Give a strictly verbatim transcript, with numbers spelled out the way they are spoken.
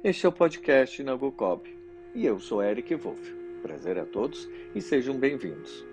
Este é o podcast Nagocob e eu sou Eric Wolff. Prazer a todos e sejam bem-vindos.